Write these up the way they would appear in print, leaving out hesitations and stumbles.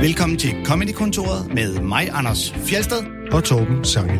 Velkommen til Comedy-kontoret med mig, Anders Fjeldsted og Torben Sangel.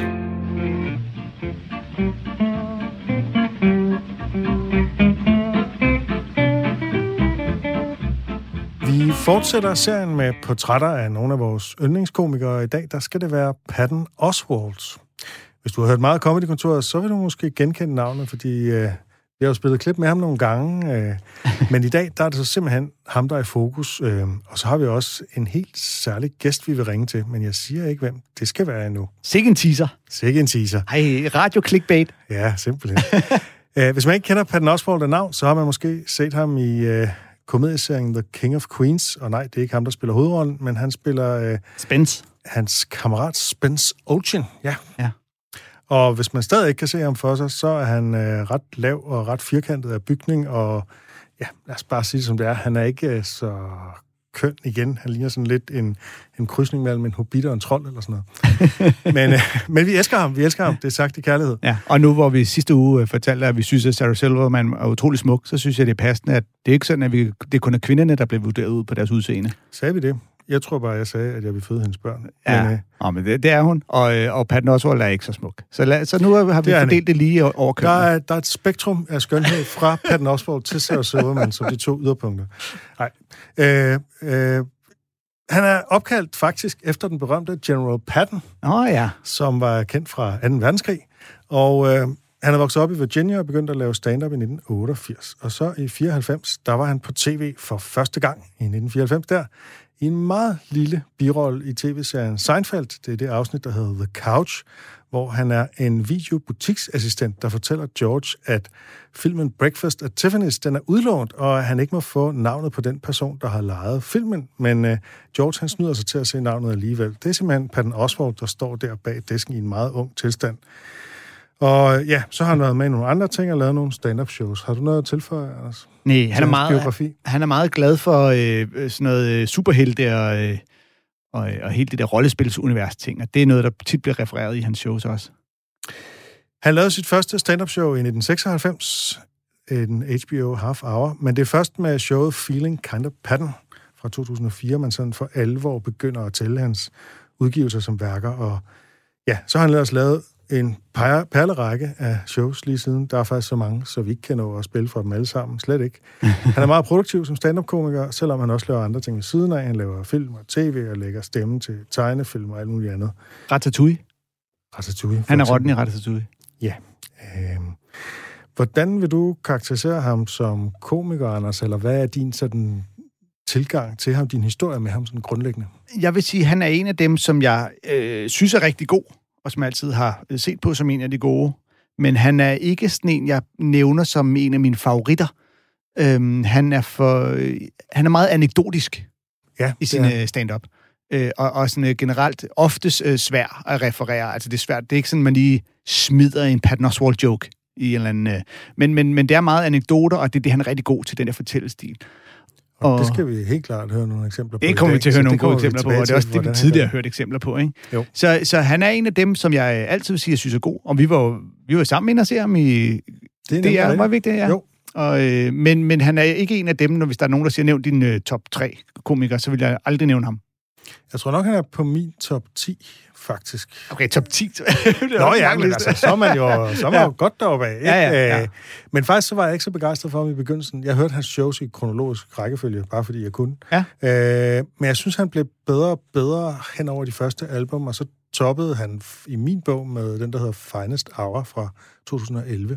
Vi fortsætter serien med portrætter af nogle af vores yndlingskomikere. I dag der skal det være Patton Oswalt. Hvis du har hørt meget Comedy-kontoret, så vil du måske genkende navnet, fordi vi har jo spillet klip med ham nogle gange. Men i dag der er det så simpelthen ham, der er i fokus. Og så har vi også en helt særlig gæst, vi vil ringe til. Men jeg siger ikke, hvem det skal være endnu. Sikke en teaser. Sikke en teaser. Ej, radio-clickbait. Ja, simpelthen. Hvis man ikke kender Patton Oswalt af navn, så har man måske set ham i komedieserien The King of Queens. Og nej, det er ikke ham, der spiller hovedrollen, men han spiller Spence. Hans kammerat Spence Ocean. Ja. Ja. Og hvis man stadig ikke kan se ham for sig, så er han ret lav og ret firkantet af bygning, og ja, lad os bare sige det som det er. Han er ikke så køn igen. Han ligner sådan lidt en krydsning mellem en hobbit og en trold eller sådan noget. men vi elsker ham. Det er sagt i kærlighed. Ja, og nu hvor vi sidste uge fortalte, at vi synes, at Sarah Silverman er utrolig smuk, så synes jeg, det er passende, at det er ikke sådan, at det kun er kvinderne, der bliver vurderet ud på deres udseende. Sagde vi det? Jeg tror bare, jeg sagde, at jeg vil føde hendes børn. Ja, men det er hun. Og Patton Oswalt er ikke så smuk. Så nu har vi fordelt det lige over kønnen. Der er et spektrum af skønhed fra Patton Oswalt til Sarah Silverman, som de to yderpunkter. Nej. Han er opkaldt faktisk efter den berømte General Patton, som var kendt fra 2. verdenskrig. Og han er vokset op i Virginia og begyndte at lave stand-up i 1988. Og så i 94, der var han på tv for første gang i 1994 der, i en meget lille birolle i tv-serien Seinfeld. Det er det afsnit, der hedder The Couch, hvor han er en videobutiksassistent, der fortæller George, at filmen Breakfast at Tiffany's, den er udlånt, og han ikke må få navnet på den person, der har lejet filmen. Men George, han snyder sig til at se navnet alligevel. Det er simpelthen Patton Oswalt, der står der bag disken i en meget ung tilstand. Og ja, så har han været med i nogle andre ting og lavet nogle stand-up shows. Har du noget at tilføje, Anders? Nej, han er meget glad for sådan noget superhelte og helt det der rollespilsunivers ting, og det er noget, der tit bliver refereret i hans shows også. Han lavede sit første stand-up show i 1996, en HBO Half Hour, men det er først med showet Feeling Kind of Patton fra 2004, man sådan for alvor begynder at tælle hans udgivelser som værker, og ja, så har han ellers lavet en perlerække af shows lige siden. Der er faktisk så mange, så vi ikke kan nå at spille for dem alle sammen. Slet ikke. Han er meget produktiv som stand-up-komiker, selvom han også laver andre ting ved siden af. Han laver film og tv og lægger stemme til tegnefilm og alt muligt andet. Ratatouille. Han er rotten i Ratatouille. Ja. Hvordan vil du karakterisere ham som komiker, Anders? Eller hvad er din sådan tilgang til ham, din historie med ham sådan grundlæggende? Jeg vil sige, at han er en af dem, som jeg synes er rigtig god, og som jeg altid har set på som en af de gode. Men han er ikke sådan en, jeg nævner som en af mine favoritter. Han er meget anekdotisk i sin stand-up. Og sådan generelt oftest svær at referere. Altså det er svært. Det er ikke sådan, man lige smider en Patton Oswalt joke i en eller anden... Men det er meget anekdoter, og det er det, han er rigtig god til, den der fortællestil. Og det skal vi helt klart høre nogle eksempler på. Det kommer vi til at høre nogle gode eksempler på, og det er også det, vi tidligere har hørt eksempler på. Ikke? Så han er en af dem, som jeg altid vil sige, jeg synes er god. Og vi var sammen inde og se ham i... Det er meget vigtigt, ja. Jo. Men han er ikke en af dem, hvis der er nogen, der siger, nævn din top 3 komikere, så vil jeg aldrig nævne ham. Jeg tror nok, han er på min top 10, faktisk. Okay, top 10? Nå ja, men altså, så er man jo godt deroppe af. Ja. Men faktisk så var jeg ikke så begejstret for ham i begyndelsen. Jeg hørte hans shows i kronologisk rækkefølge, bare fordi jeg kunne. Ja. Men jeg synes, han blev bedre og bedre hen over de første album, og så toppede han i min bog med den, der hedder Finest Hour fra 2011.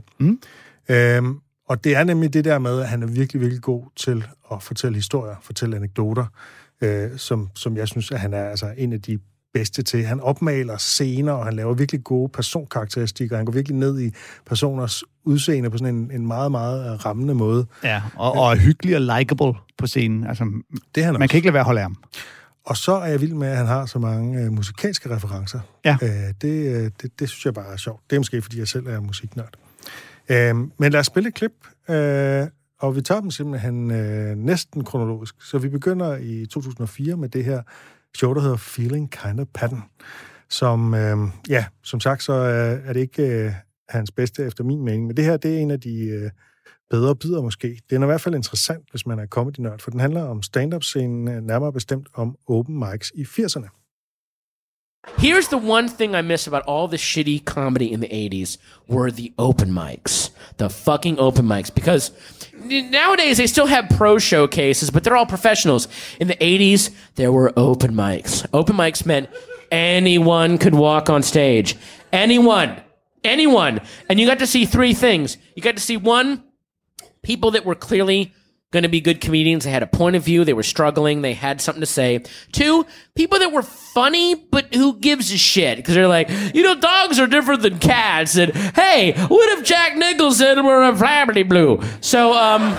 Og det er nemlig det der med, at han er virkelig, virkelig god til at fortælle historier, fortælle anekdoter, som jeg synes, at han er altså en af de bedste til. Han opmaler scener, og han laver virkelig gode personkarakteristikker. Han går virkelig ned i personers udseende på sådan en meget, meget rammende måde. Ja, og er hyggelig og likable på scenen. Altså, det man kan ikke lade være at holde af ham. Og så er jeg vild med, at han har så mange musikalske referencer. Ja. Det synes jeg bare er sjovt. Det er måske, fordi jeg selv er musiknørd. Men lad os spille et klip, og vi tager dem simpelthen næsten kronologisk. Så vi begynder i 2004 med det her show, der hedder Feeling Kind of Patton, som, som sagt, så er det ikke hans bedste efter min mening, men det her, det er en af de bedre bidder måske. Den er i hvert fald interessant, hvis man er comedy-nørd, for den handler om stand-up-scenen, nærmere bestemt om open mics i 80'erne. Here's the one thing I miss about all the shitty comedy in the 80s were the open mics. The fucking open mics. Because nowadays they still have pro showcases, but they're all professionals. In the 80s, there were open mics. Open mics meant anyone could walk on stage. Anyone. And you got to see three things. You got to see, one, people that were clearly going to be good comedians. They had a point of view. They were struggling. They had something to say. Two, people that were funny, but who gives a shit? Because they're like, dogs are different than cats. And, hey, what if Jack Nicholson were a Flabberty Blue? So,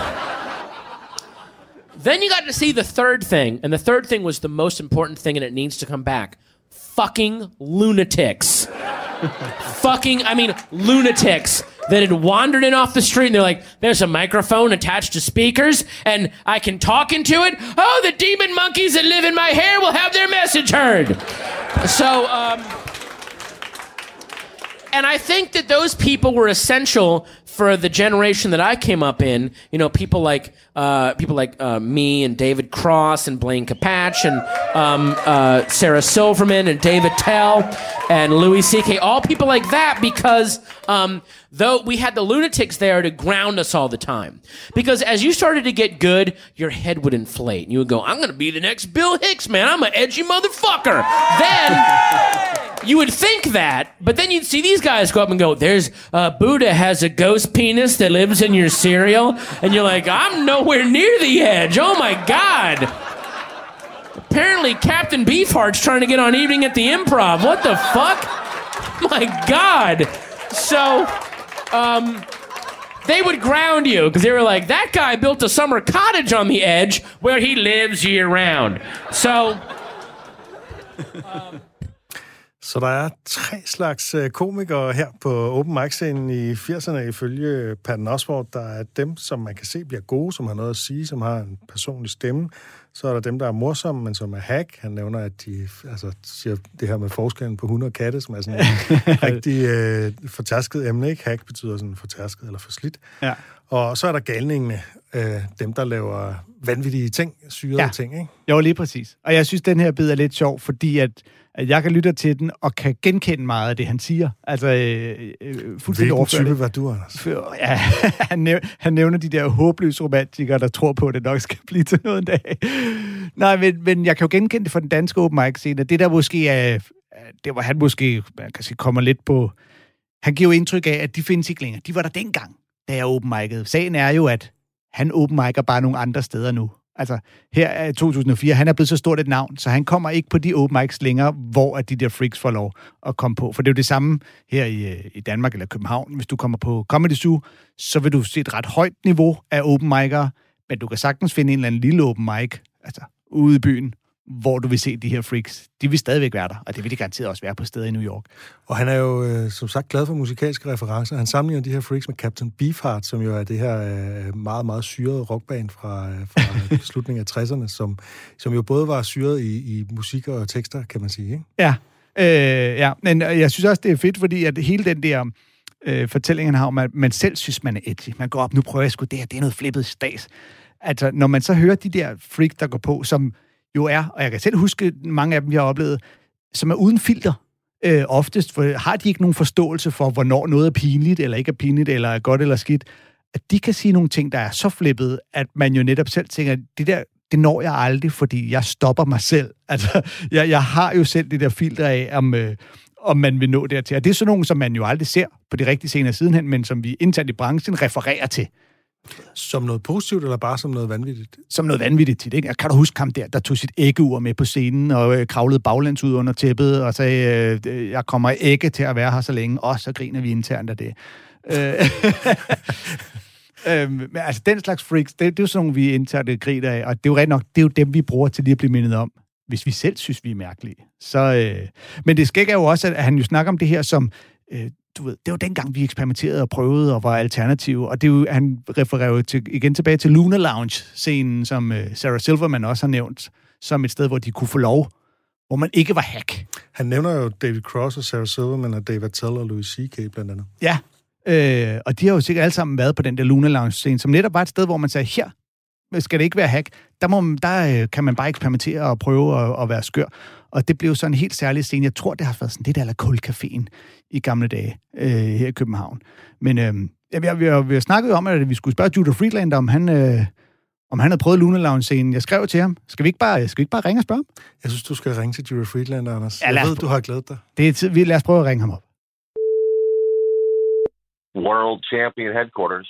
then you got to see the third thing. And the third thing was the most important thing, and it needs to come back. Fucking lunatics. Lunatics that had wandered in off the street, and they're like, there's a microphone attached to speakers, and I can talk into it. Oh, the demon monkeys that live in my hair will have their message heard. So, and I think that those people were essential for the generation that I came up in. People like me and David Cross and Blaine Capatch and Sarah Silverman and David Tell and Louis C.K. All people like that, because though we had the lunatics there to ground us all the time. Because as you started to get good, your head would inflate. And you would go, I'm going to be the next Bill Hicks, man. I'm an edgy motherfucker. Then you would think that, but then you'd see these guys go up and go, there's Buddha has a ghost penis that lives in your cereal. And you're like, I'm nowhere near the edge. Oh my God. Apparently Captain Beefheart's trying to get on Evening at the Improv. What the fuck? My God. So, they would ground you because they were like, that guy built a summer cottage on the edge where he lives year round. So, Så der er 3 slags komikere her på open mic-scenen i 80'erne ifølge Patton Oswalt. Der er dem, som man kan se bliver gode, som har noget at sige, som har en personlig stemme. Så er der dem, der er morsomme, men som er hack. Han nævner, at de siger det her med forskellen på hunde og katte, som er sådan en rigtig fortærsket emne. Ikke? Hack betyder sådan fortærsket eller forslidt. Ja. Og så er der galningene, dem, der laver vanvittige ting, syrede ting, ikke? Jo, lige præcis. Og jeg synes, den her bid er lidt sjov, fordi at jeg kan lytte til den, og kan genkende meget af det, han siger. Altså, fuldstændig overført. Hvilken type var du, Anders? Ja, han nævner de der håbløse romantikere, der tror på, at det nok skal blive til noget en dag. Nej, men jeg kan jo genkende det fra den danske open mic-scene. Det der måske er, det hvor han måske, man kan sige, kommer lidt på. Han giver jo indtryk af, at de findes ikke længere. De var der dengang, da jeg open mic'ede. Sagen er jo, at han open mic'er bare nogle andre steder nu. Altså, her er 2004, han er blevet så stort et navn, så han kommer ikke på de open mics længere, hvor de der freaks får lov at komme på. For det er jo det samme her i Danmark eller København. Hvis du kommer på Comedy Zoo, så vil du se et ret højt niveau af open mic'ere, men du kan sagtens finde en eller anden lille open mic, altså ude i byen, hvor du vil se de her freaks. De vil stadigvæk være der, og det vil de garanteret også være på steder i New York. Og han er jo, som sagt, glad for musikalske referencer. Han sammenligner de her freaks med Captain Beefheart, som jo er det her meget, meget syrede rockband fra slutningen af 60'erne, som jo både var syret i musik og tekster, kan man sige, ikke? Ja, men jeg synes også, det er fedt, fordi at hele den der fortælling, han har om, at man selv synes, man er edgy. Man går op, nu prøver jeg sgu det her, det er noget flippet stas. Altså, når man så hører de der freaks, der går på, som jo er, og jeg kan selv huske mange af dem, jeg har oplevet, som er uden filter. Oftest for, har de ikke nogen forståelse for, hvornår noget er pinligt, eller ikke er pinligt, eller er godt eller skidt. At de kan sige nogle ting, der er så flippet, at man jo netop selv tænker, det når jeg aldrig, fordi jeg stopper mig selv. Altså, jeg har jo selv det der filter af, om man vil nå dertil. Og det er sådan nogle, som man jo aldrig ser på de rigtige scener sidenhen, men som vi internt i branchen refererer til. Som noget positivt, eller bare som noget vanvittigt? Som noget vanvittigt tit, ikke? Kan du huske ham der tog sit æggeur med på scenen, og kravlede baglæns ud under tæppet, og sagde, jeg kommer ikke til at være her så længe, og så griner vi internt af det. Men altså, den slags freaks, det er jo sådan nogle, vi internt griner af, og det er jo ret nok, det er jo dem, vi bruger til lige at blive mindet om, hvis vi selv synes, vi er mærkelige. Så, men det skæg er jo også, at han jo snakker om det her som... du ved, det var dengang, vi eksperimenterede og prøvede og var alternative, og det er jo, han refererer jo igen tilbage til Luna Lounge-scenen, som Sarah Silverman også har nævnt, som et sted, hvor de kunne få lov, hvor man ikke var hack. Han nævner jo David Cross og Sarah Silverman og David Tell og Louis C.K. blandt andet. Ja, Og de har jo sikkert alle sammen været på den der Luna Lounge-scene, som netop var et sted, hvor man sagde, her skal det ikke være hack. Der kan man bare eksperimentere og prøve at være skør. Og det blev sådan en helt særlig scene. Jeg tror, det har været sådan det der Kulcaféen i gamle dage her i København. Men vi har snakket om, at vi skulle spørge Judah Friedlander, om han havde prøvet Luna Lounge-scenen. Jeg skrev til ham. Skal vi ikke bare ringe og spørge ham? Jeg synes, du skal ringe til Judah Friedlander, Anders. Ja, jeg ved, du har glædet dig. Det er tid. Lad os prøve at ringe ham op. World Champion Headquarters.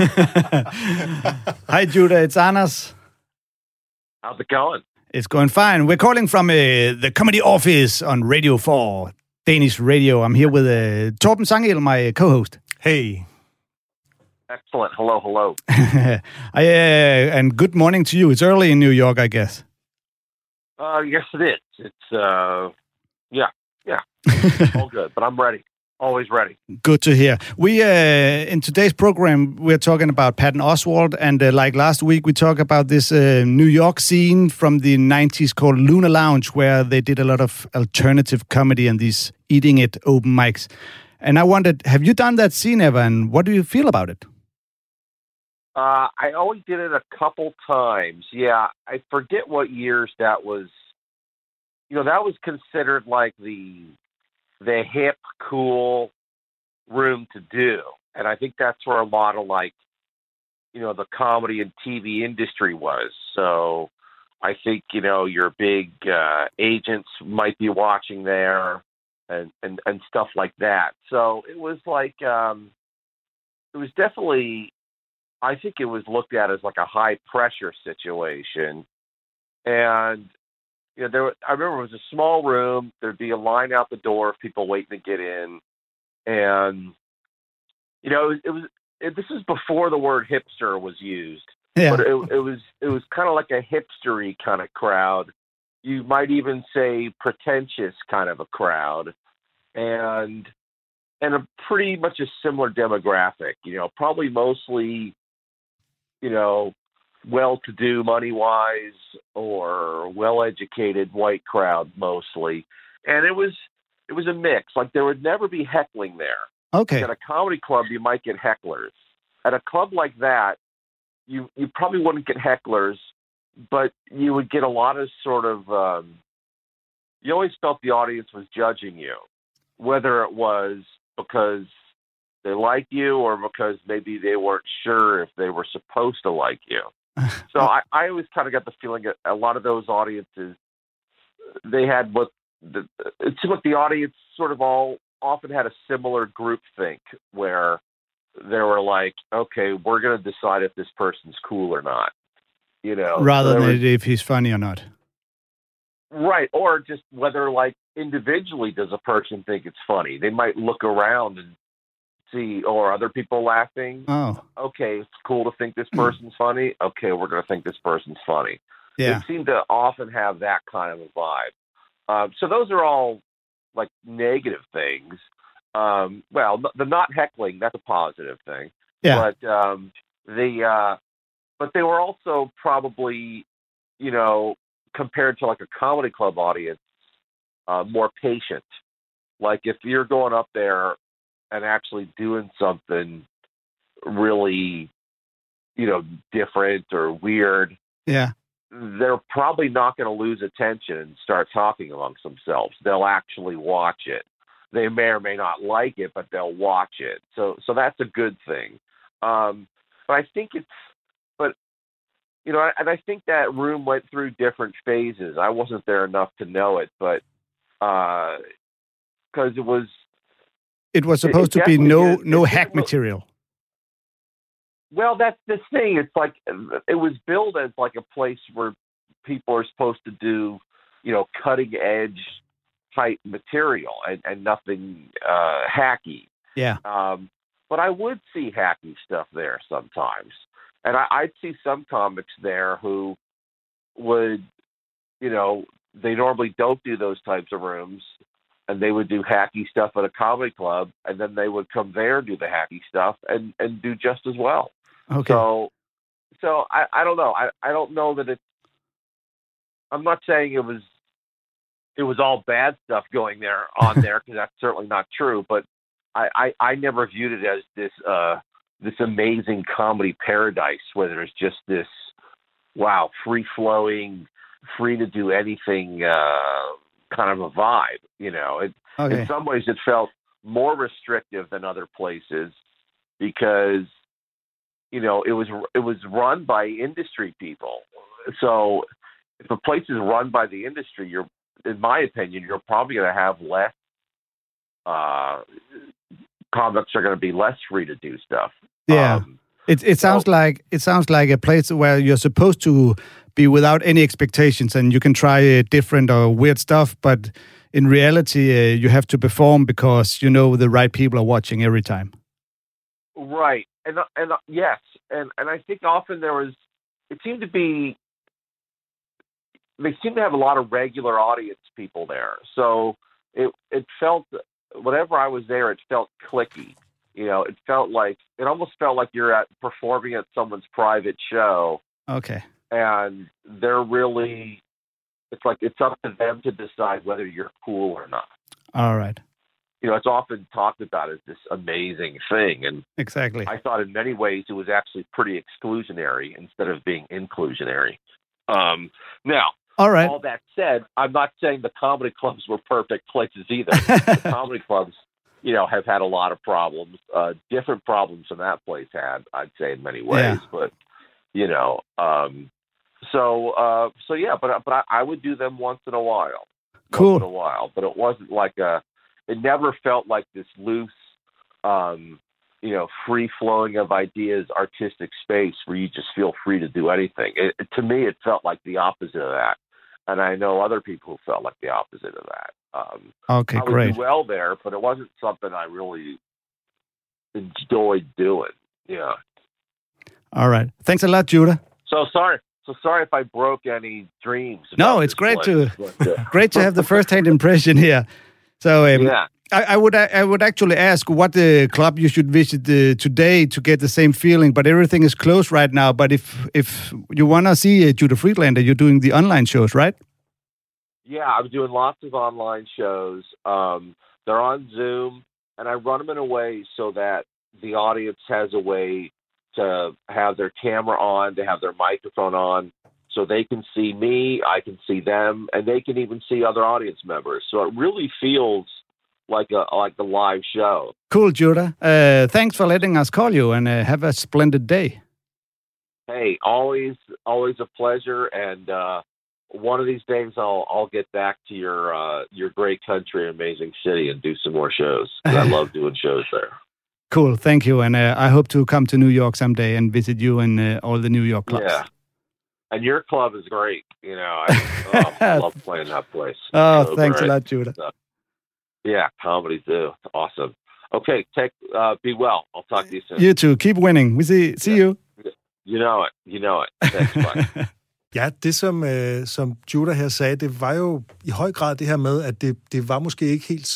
Hi, Judah. It's Anders. How's it going? It's going fine. We're calling from the comedy office on Radio 4, Danish radio. I'm here with Torben Sangel, my co-host. Hey. Excellent. Hello. And good morning to you. It's early in New York, I guess. Yes, it is. It's, yeah. All good, but I'm ready. Always ready. Good to hear. We, in today's program, we're talking about Patton Oswalt, and like last week, we talked about this New York scene from the 90s called Luna Lounge, where they did a lot of alternative comedy and these eating it open mics. And I wondered, have you done that scene ever, and what do you feel about it? I only did it a couple times. Yeah, I forget what years that was. You know, that was considered like the hip, cool room to do. And I think that's where a lot of the comedy and TV industry was. So I think, your big agents might be watching there and stuff like that. So it was it was definitely, I think it was looked at as like a high pressure situation. And I remember it was a small room. There'd be a line out the door of people waiting to get in, and this is before the word hipster was used. Yeah. But it was kind of like a hipstery kind of crowd. You might even say pretentious kind of a crowd, and a pretty much a similar demographic. Probably mostly, well-to-do money-wise or well-educated white crowd mostly. And it was a mix. Like, there would never be heckling there. Okay. At a comedy club, you might get hecklers. At a club like that, you probably wouldn't get hecklers, but you would get a lot of sort of, you always felt the audience was judging you, whether it was because they like you or because maybe they weren't sure if they were supposed to like you. So I always kind of got the feeling that a lot of those audiences, they had it seemed like the audience sort of often had a similar group think where they were like, okay, we're going to decide if this person's cool or not, rather than if he's funny or not. Right. Or just whether individually does a person think it's funny. They might look around and see, or other people laughing. Oh, okay, it's cool to think this person's funny. Okay, we're going to think this person's funny. Yeah. They seem to often have that kind of a vibe. So those are all negative things. Well, the not heckling, that's a positive thing. Yeah. But they were also probably, compared to a comedy club audience, more patient. Like if you're going up there and actually doing something really, different or weird, yeah, they're probably not going to lose attention and start talking amongst themselves. They'll actually watch it. They may or may not like it, but they'll watch it. So that's a good thing. But I think and I think that room went through different phases. I wasn't there enough to know it, but because it was supposed to be no hack material. Well, that's the thing. It's it was billed as a place where people are supposed to do, cutting edge type material and nothing hacky. Yeah. But I would see hacky stuff there sometimes. And I'd see some comics there who would, they normally don't do those types of rooms, and they would do hacky stuff at a comedy club, and then they would come there and do the hacky stuff and do just as well. Okay. So I don't know. I don't know that it's. I'm not saying it was all bad stuff going there on there, because that's certainly not true. But I never viewed it as this amazing comedy paradise where there's just this, wow, free-flowing, free to do anything kind of a vibe. You know, in some ways it felt more restrictive than other places because, you know, it was run by industry people. So if a place is run by the industry, in my opinion, you're probably going to have less comics are going to be less free to do stuff. Yeah. It sounds like a place where you're supposed to be without any expectations and you can try different or weird stuff, but in reality, you have to perform because you know the right people are watching every time. Right, and yes, and I think often they seemed to have a lot of regular audience people there, so it felt, whenever I was there, it felt cliquey. You know, it almost felt like you're performing at someone's private show. Okay. And they're really, it's like it's up to them to decide whether you're cool or not. All right. You know, it's often talked about as this amazing thing. And exactly. I thought in many ways it was actually pretty exclusionary instead of being inclusionary. Now, all right. All that said, I'm not saying the comedy clubs were perfect places either. The comedy clubs, you know, have had a lot of problems, different problems than that place had, I'd say, in many ways. Yeah. But, you know, so yeah, but I would do them once in a while. Cool. Once in a while, but it wasn't like it never felt like this loose, you know, free flowing of ideas, artistic space where you just feel free to do anything. To me, it felt like the opposite of that. And I know other people who felt like the opposite of that. Okay, great. I would do well there, but it wasn't something I really enjoyed doing. Yeah. All right. Thanks a lot, Judah. So sorry if I broke any dreams. No, it's great great to have the first-hand impression here. So yeah. I would actually ask what club you should visit today to get the same feeling, but everything is closed right now. But if you want to see Judah Friedlander, you're doing the online shows, right? Yeah, I'm doing lots of online shows. They're on Zoom, and I run them in a way so that the audience has a way to have their camera on, to have their microphone on, so they can see me, I can see them, and they can even see other audience members. So it really feels like a live show. Cool, Judah. Thanks for letting us call you, and have a splendid day. Hey, always a pleasure, and one of these days I'll get back to your great country, amazing city, and do some more shows. I love doing shows there. Cool, thank you, and I hope to come to New York someday and visit you in all the New York clubs. Yeah, and your club is great. You know, I love playing that place. Oh, so thanks a lot, Judah. Yeah, comedy too. Awesome. Okay, be well. I'll talk to you soon. You too. Keep winning. We see you. You know it. Thanks, bye. Ja, det som Judah her sagde, det var jo i høj grad det her med, at det var måske ikke helt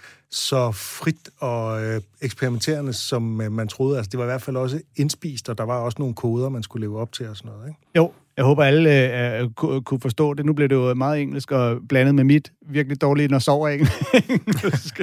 så frit og eksperimenterende, som man troede. Altså, det var i hvert fald også indspist, og der var også nogle koder, man skulle leve op til og sådan noget, ikke? Jo, jeg håber, alle kunne forstå det. Nu blev det jo meget engelsk og blandet med mit virkelig dårligt, når sover engelsk.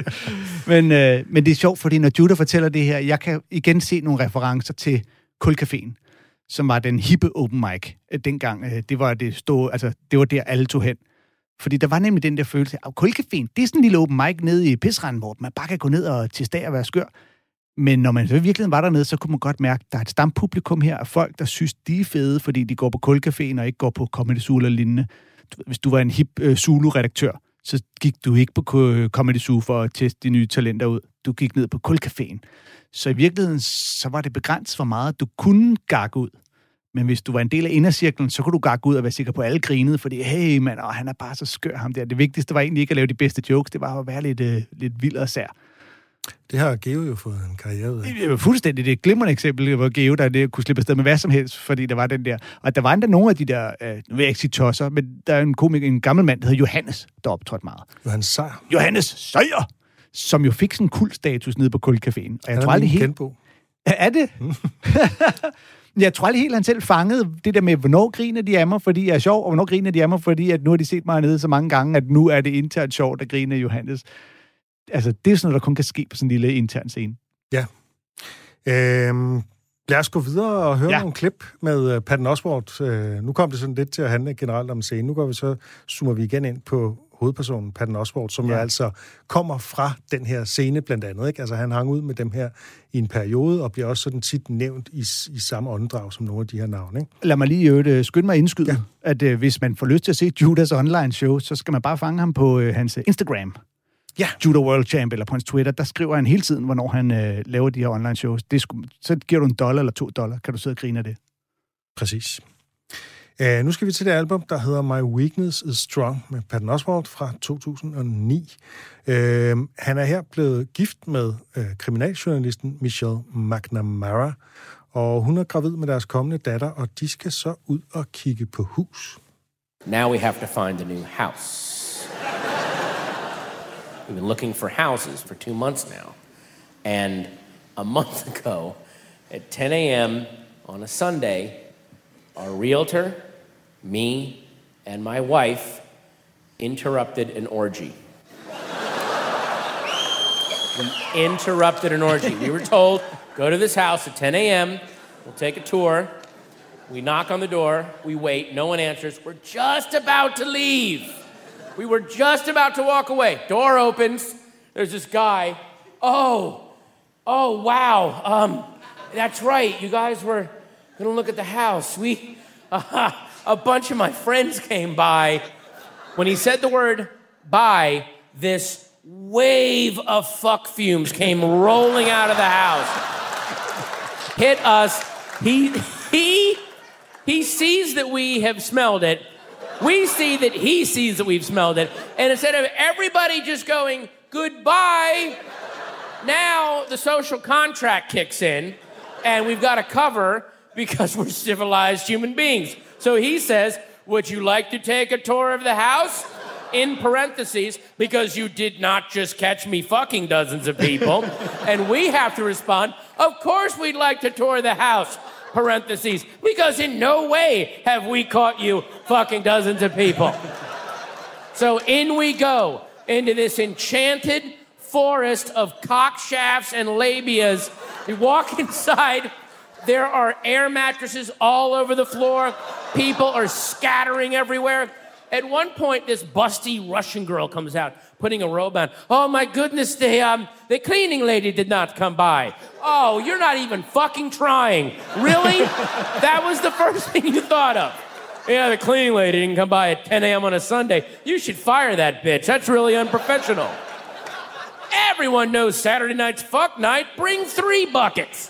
Men det er sjovt, fordi når Judah fortæller det her, jeg kan igen se nogle referencer til Kulcaféen, som var den hippe open mic dengang. Det var der alle tog hen. Fordi der var nemlig den der følelse af, Kulcaféen, det er sådan en lille open mic nede i Pisranden, hvor man bare kan gå ned og til stag og være skør. Men når man så virkelig var dernede, så kunne man godt mærke, at der er et stampublikum her af folk, der synes, de er fede, fordi de går på Kulcaféen og ikke går på Comedy Zoo eller lignende. Hvis du var en hip Zulu-redaktør, så gik du ikke på Comedy Zoo for at teste de nye talenter ud. Du gik ned på Kulcaféen. Så i virkeligheden, så var det begrænset for meget. Du kunne gakke ud. Men hvis du var en del af indercirklen, så kunne du gakke ud og være sikker på, at alle grinede, fordi, hey mand, han er bare så skør ham der. Det vigtigste var egentlig ikke at lave de bedste jokes, det var at være lidt vild og sær. Det har Geo jo fået en karriere ud af. Det var fuldstændig det glimrende eksempel, hvor Geo, der kunne slippe afsted med hvad som helst, fordi der var den der. Og der var endda nogle af de der, nu vil jeg ikke sige tosser, men der er en gammel mand, der hedder Johannes, der optrådte meget. Johannes Sejer! Som jo fik sådan en kultstatus nede på Kulcaféen. Og jeg tror aldrig helt... Er det? Jeg tror aldrig helt, han selv fangede det der med, hvornår griner de af mig, fordi jeg er sjov, og hvornår griner de af mig, fordi at nu har de set mig nede så mange gange, at nu er det internt sjovt at grine af Johannes. altså, det er sådan noget, der kun kan ske på sådan en lille intern scene. Ja. Lad os gå videre og høre nogle klip med Patton Oswalt. Nu kom det sådan lidt til at handle generelt om scenen. Nu går vi zoomer vi igen ind på hovedpersonen, Patton Oswalt, som jo altså kommer fra den her scene blandt andet. Ikke? Altså han hang ud med dem her i en periode, og bliver også sådan tit nævnt i samme åndedrag som nogle af de her navne. Ikke? Lad mig lige skynde mig indskyde, at hvis man får lyst til at se Judas online show, så skal man bare fange ham på hans Instagram. Ja. Judo World Champ, eller på hans Twitter, der skriver han hele tiden, hvornår han laver de her online shows. Så giver du $1 eller $2, kan du sidde og grine af det. Præcis. Nu skal vi til det album, der hedder My Weakness is Strong, med Patton Oswalt fra 2009. Han er her blevet gift med kriminaljournalisten Michelle McNamara, og hun er gravid med deres kommende datter, og de skal så ud og kigge på hus. Now we have to find a new house. We've been looking for houses for 2 months now. And a month ago, at 10 a.m. on a Sunday, our realtor, me, and my wife interrupted an orgy. We interrupted an orgy. We were told, go to this house at 10 a.m., we'll take a tour. We knock on the door, we wait, no one answers. We're just about to leave. We were just about to walk away. Door opens. There's this guy. Oh, wow. That's right. You guys were going to look at the house. A bunch of my friends came by. When he said the word "by," this wave of fuck fumes came rolling out of the house. Hit us. He sees that we have smelled it. We see that he sees that we've smelled it. And instead of everybody just going, goodbye, now the social contract kicks in, and we've got to cover because we're civilized human beings. So he says, would you like to take a tour of the house? In parentheses, because you did not just catch me fucking dozens of people. And we have to respond, of course we'd like to tour the house. Parentheses, because in no way have we caught you fucking dozens of people. So in we go into this enchanted forest of cock shafts and labias. We walk inside. There are air mattresses all over the floor. People are scattering everywhere. At one point, this busty Russian girl comes out, putting a robe on. Oh my goodness, the cleaning lady did not come by. Oh, you're not even fucking trying. Really? That was the first thing you thought of. Yeah, the cleaning lady didn't come by at 10 a.m. on a Sunday. You should fire that bitch. That's really unprofessional. Everyone knows Saturday night's fuck night. Bring 3 buckets.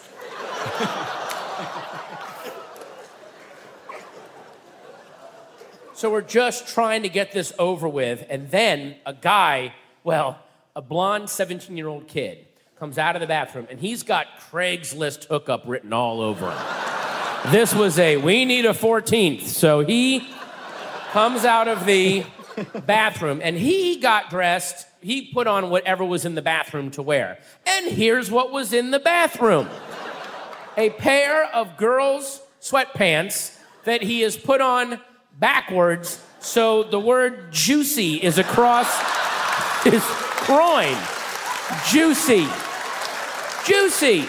So we're just trying to get this over with, and then a guy, a blonde 17-year-old kid, comes out of the bathroom, and he's got Craigslist hookup written all over him. This was we need a 14th. So he comes out of the bathroom, and he got dressed. He put on whatever was in the bathroom to wear. And here's what was in the bathroom. A pair of girls' sweatpants that he has put on backwards, so the word juicy is across his groin. Juicy. Juicy.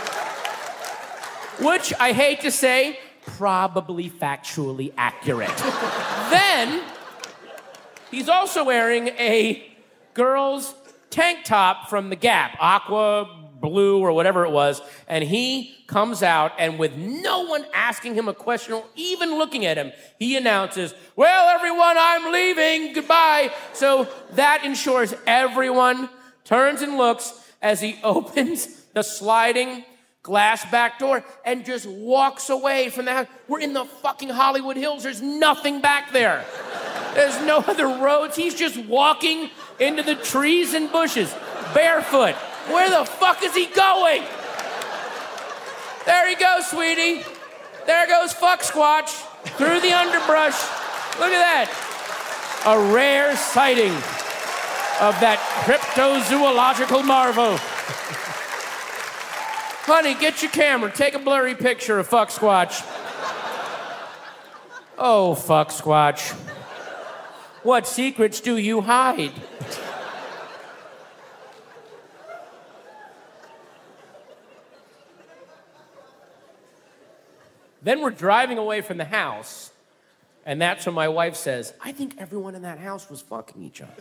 Which, I hate to say, probably factually accurate. Then, he's also wearing a girl's tank top from the Gap, aqua, blue, or whatever it was, and he comes out, and with no one asking him a question or even looking at him, he announces, well, everyone, I'm leaving, goodbye. So that ensures everyone turns and looks as he opens the sliding glass back door and just walks away from the house. We're in the fucking Hollywood Hills. There's nothing back there. There's no other roads. He's just walking into the trees and bushes, barefoot. Where the fuck is he going? There he goes, sweetie. There goes Fuck Squatch through the underbrush. Look at that. A rare sighting of that cryptozoological marvel. Honey, get your camera. Take a blurry picture of Fuck Squatch. Oh, Fuck Squatch. What secrets do you hide? Then we're driving away from the house, and that's when my wife says, I think everyone in that house was fucking each other.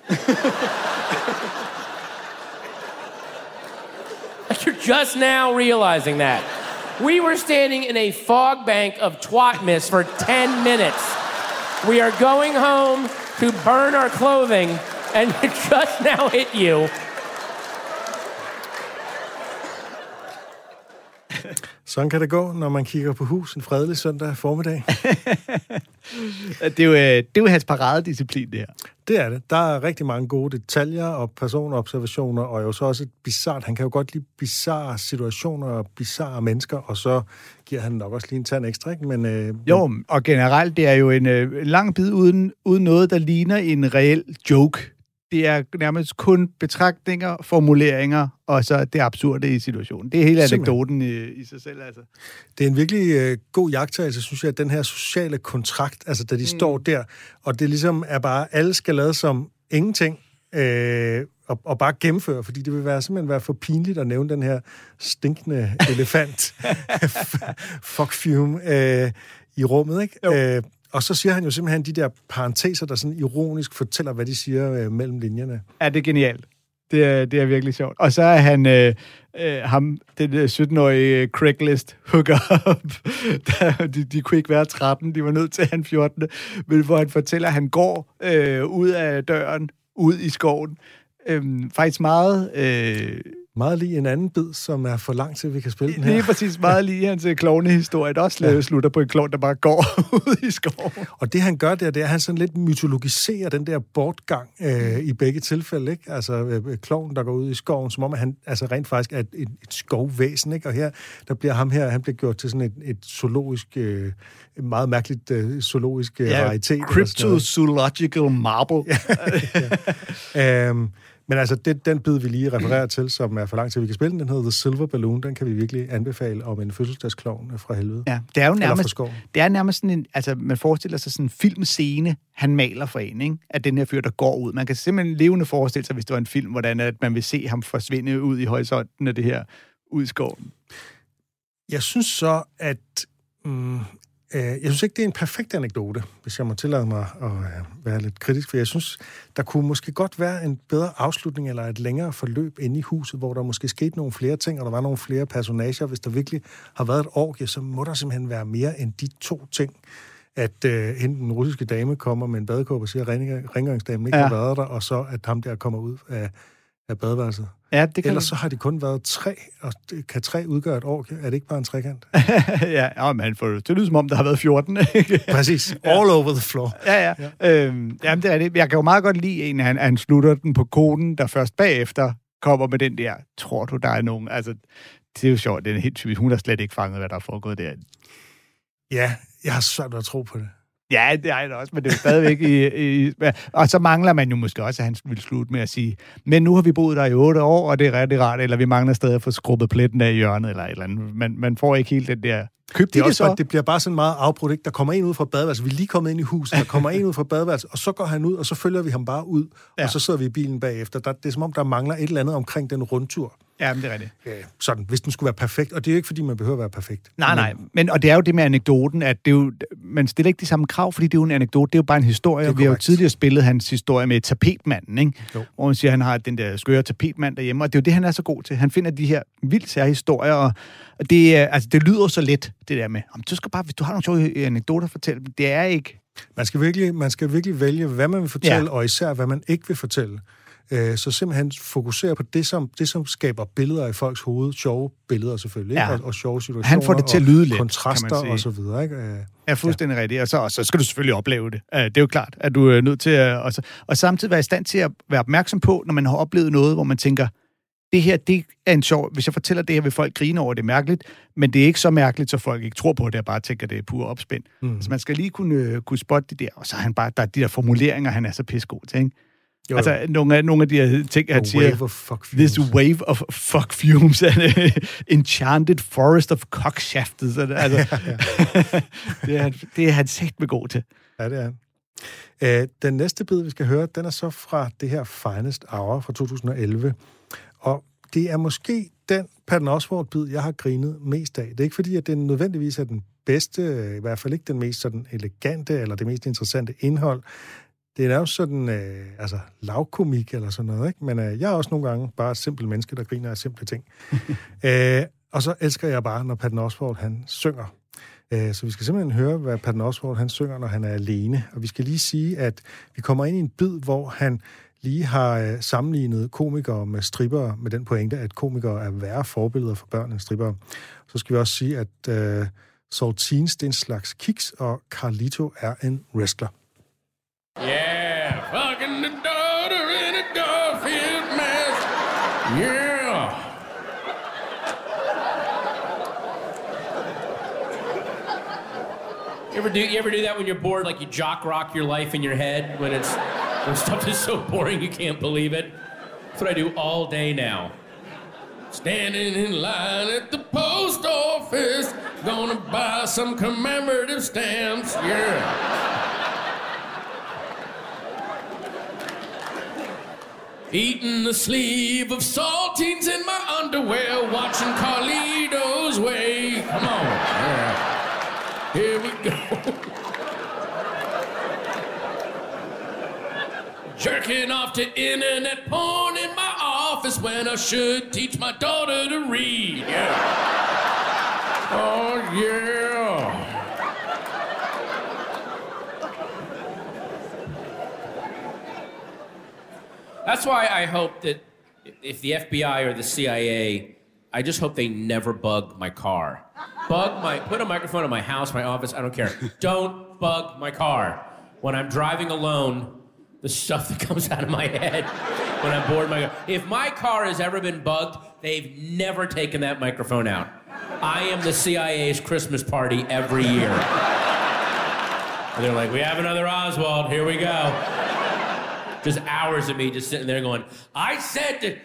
You're just now realizing that. We were standing in a fog bank of twat mist for 10 minutes. We are going home to burn our clothing, and it just now hit you. Sådan kan det gå, når man kigger på hus en fredelig søndag formiddag. Det er jo hans paradedisciplin, det her. Det er det. Der er rigtig mange gode detaljer og personobservationer, og jo så også et bizarrt. Han kan jo godt lide bizarre situationer og bizarre mennesker, og så giver han nok også lige en tand ekstra, ikke? Men, jo, og generelt, det er jo en lang bid uden noget, der ligner en reel joke. Det er nærmest kun betragtninger, formuleringer, og så det absurde i situationen. Det er hele anekdoten i sig selv, altså. Det er en virkelig god jagttagelse, synes jeg, at den her sociale kontrakt, altså da de står der, og det ligesom er bare, alle skal lade som ingenting, og bare gennemføre, fordi det vil simpelthen være for pinligt at nævne den her stinkende elefant, fuck fume, i rummet, ikke? Og så siger han jo simpelthen de der parenteser, der sådan ironisk fortæller, hvad de siger mellem linjerne. Ja, det er genialt. Det er virkelig sjovt. Og så er han den 17-årige Craigslist hooker op. De kunne ikke være 13, de var nødt til at han 14. Men hvor han fortæller, at han går ud af døren, ud i skoven. Faktisk meget lige en anden bid, som er for lang til, vi kan spille den her. Lige præcis meget lige hans klovnehistorie, der også slutter på en klovn, der bare går ud i skoven. Og det han gør der, det er, at han sådan lidt mytologiserer den der bortgang i begge tilfælde, ikke? Altså klovnen, der går ud i skoven, som om at han altså rent faktisk er et skovvæsen, ikke? Og her, der bliver han bliver gjort til sådan et zoologisk, meget mærkeligt zoologisk raritet. Cryptozoological marble. Men altså, den bid, vi lige refererer til, som er for lang tid, vi kan spille den hedder The Silver Balloon, den kan vi virkelig anbefale om en fødselsdagsklovn fra helvede. Ja, det er jo nærmest sådan en, altså man forestiller sig sådan en filmscene, han maler for en, ikke? Af den her fyr, der går ud. Man kan simpelthen levende forestille sig, hvis det var en film, hvordan at man vil se ham forsvinde ud i horisonten af det her, ud i skoven. Jeg synes så, at jeg synes ikke, det er en perfekt anekdote, hvis jeg må tillade mig at være lidt kritisk, for jeg synes, der kunne måske godt være en bedre afslutning eller et længere forløb inde i huset, hvor der måske skete nogle flere ting, og der var nogle flere personager. Hvis der virkelig har været et orgie, så må der simpelthen være mere end de to ting. At hende den russiske dame kommer med en badekåbe og siger, at rengøringsdamen ikke har været der, og så at ham der kommer ud af badeværelset. Ja, det kan ellers så har de kun været 3, og kan 3 udgøre et orgie? Er det ikke bare en trekant? Ja, man får det lyder som om, der har været 14. Præcis. All over the floor. Ja. Jamen, det er det. Jeg kan jo meget godt lide en, han slutter den på koden, der først bagefter kommer med den der, tror du, der er nogen... Altså, det er jo sjovt, det er helt typisk. Hun har slet ikke fanget, hvad der er foregået der. Ja, jeg har svært ved at tro på det. Ja, det er det også, men det er stadigvæk og så mangler man jo måske også, at han vil slutte med at sige, men nu har vi boet der i 8 år, og det er rigtig rart, eller vi mangler stadig at få skrubbet pletten af i hjørnet, eller et eller andet. Man får ikke helt den der... Det bliver bare sådan meget afbrudt, ikke? Der kommer en ud fra badeværelset, vi er lige kommet ind i huset, der kommer en ud fra badeværelset, og så går han ud, og så følger vi ham bare ud, og så sidder vi i bilen bagefter. Det er som om, der mangler et eller andet omkring den rundtur. Ja, men det er rigtigt. Sådan, hvis den skulle være perfekt. Og det er jo ikke, fordi man behøver at være perfekt. Nej. Og det er jo det med anekdoten, at det er jo, man stiller ikke de samme krav, fordi det er jo en anekdote. Det er jo bare en historie. Vi har jo tidligere spillet hans historie med tapetmanden, ikke? Hvor man siger, at han har den der skøre tapetmand derhjemme, og det er jo det, han er så god til. Han finder de her vildt sære historier, og det lyder så let, det der med, du skal bare, hvis du har nogle sjove anekdoter at fortælle, det er ikke... Man skal virkelig vælge, hvad man vil fortælle, og især, hvad man ikke vil fortælle. Så simpelthen fokusere på det, som skaber billeder i folks hoved, sjove billeder selvfølgelig, og sjove situationer, han får det til at lyde lidt, kontraster og så videre, ikke? Ja, fuldstændig rigtigt. Og så skal du selvfølgelig opleve det. Det er jo klart, at du er nødt til at... Og samtidig være i stand til at være opmærksom på, når man har oplevet noget, hvor man tænker, det her, det er en sjov... Hvis jeg fortæller det her, vil folk grine over, det er mærkeligt, men det er ikke så mærkeligt, så folk ikke tror på det, jeg bare tænker, det er pur opspind. Så man skal lige kunne spotte det der, og så er han bare... Der er de der formuleringer, han er så pissegod til, ikke? Jo. Altså, nogle af de her ting, han siger, this wave of fuck fumes, and enchanted forest of cockshafted. Altså, det er han sagt med god til. Ja, det er han. Den næste bid, vi skal høre, den er så fra det her Finest Hour fra 2011. Og det er måske den Patton Oswalt-bid, jeg har grinet mest af. Det er ikke fordi, at det nødvendigvis er den bedste, i hvert fald ikke den mest sådan elegante, eller det mest interessante indhold. Det er jo sådan, lavkomik eller sådan noget, ikke? Men jeg er også nogle gange bare et simpelt menneske, der griner af simple ting. Og så elsker jeg bare, når Patton Oswalt, han synger. Så vi skal simpelthen høre, hvad Patton Oswalt, han synger, når han er alene. Og vi skal lige sige, at vi kommer ind i en bid, hvor han lige har sammenlignet komikere med strippere, med den pointe, at komikere er værre forbilleder for børn end strippere. Så skal vi også sige, at Saltines, det er en slags kiks, og Carlito er en wrestler. Yeah, fucking the daughter in a Garfield mask. Yeah. You ever do that when you're bored, like you jock rock your life in your head when stuff is so boring you can't believe it? That's what I do all day now. Standing in line at the post office, gonna buy some commemorative stamps. Yeah. Eating the sleeve of saltines in my underwear, watching Carlito's Way. Come on. Yeah. Here we go. Jerking off to internet porn in my office when I should teach my daughter to read. Yeah. Oh, yeah. That's why I hope that if the FBI or the CIA, I just hope they never bug my car. Put a microphone in my house, my office, I don't care. Don't bug my car. When I'm driving alone, the stuff that comes out of my head when I'm bored. If my car has ever been bugged, they've never taken that microphone out. I am the CIA's Christmas party every year. And they're like, we have another Oswald, here we go. Just hours of me just sitting there going, I said to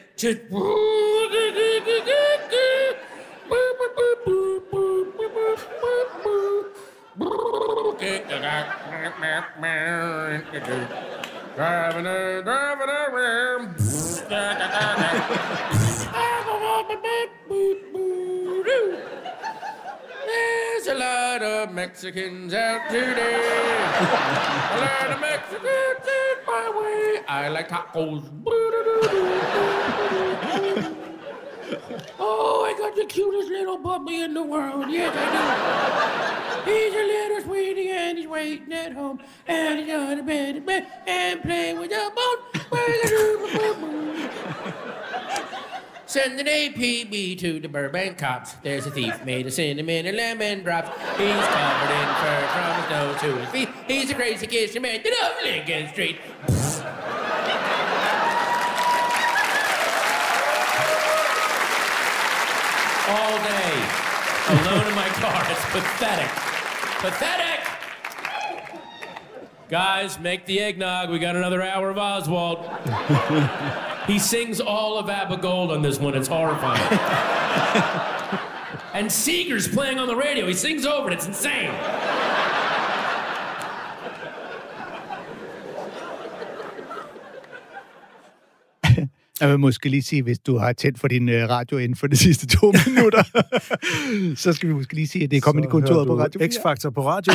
There's a lot of Mexicans out today. A lot of Mexicans in my way. I like tacos. Oh, I got the cutest little puppy in the world. Yes, I do. He's a little sweetie and he's waiting at home. And he's on the bed and playing with the bone. Send an APB to the Burbank cops. There's a thief made of cinnamon and lemon drops. He's covered in fur from his nose to his feet. He's a crazy kid man up Lincoln Street. All day, alone in my car. It's pathetic. Pathetic! Guys, make the eggnog. We got another hour of Oswald. He sings all of ABBA Gold on this one. It's horrifying. And Seeger's playing on the radio. He sings over it. It's insane. Jeg vil måske lige sige, hvis du har tændt for din radio inden for de sidste 2 minutter, så skal vi måske lige sige, at det er kommet i kontoret på Radio 4. X-Factor på radio.